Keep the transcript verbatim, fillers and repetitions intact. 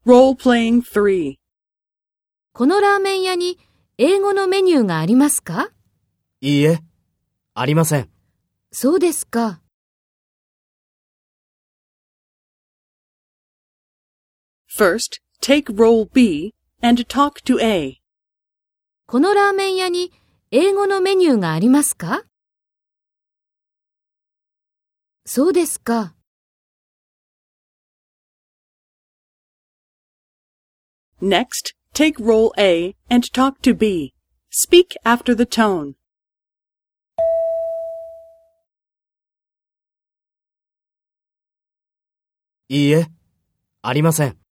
Role-playing three. このラーメン屋に英語のメニューがありますか？ いいえ、ありません。 そうですか。 First, take role B and talk to A. このラーメン屋に英語のメニューがありますか？そうですか。 Next, take role A and talk to B. Speak after the tone. いいえ、ありません。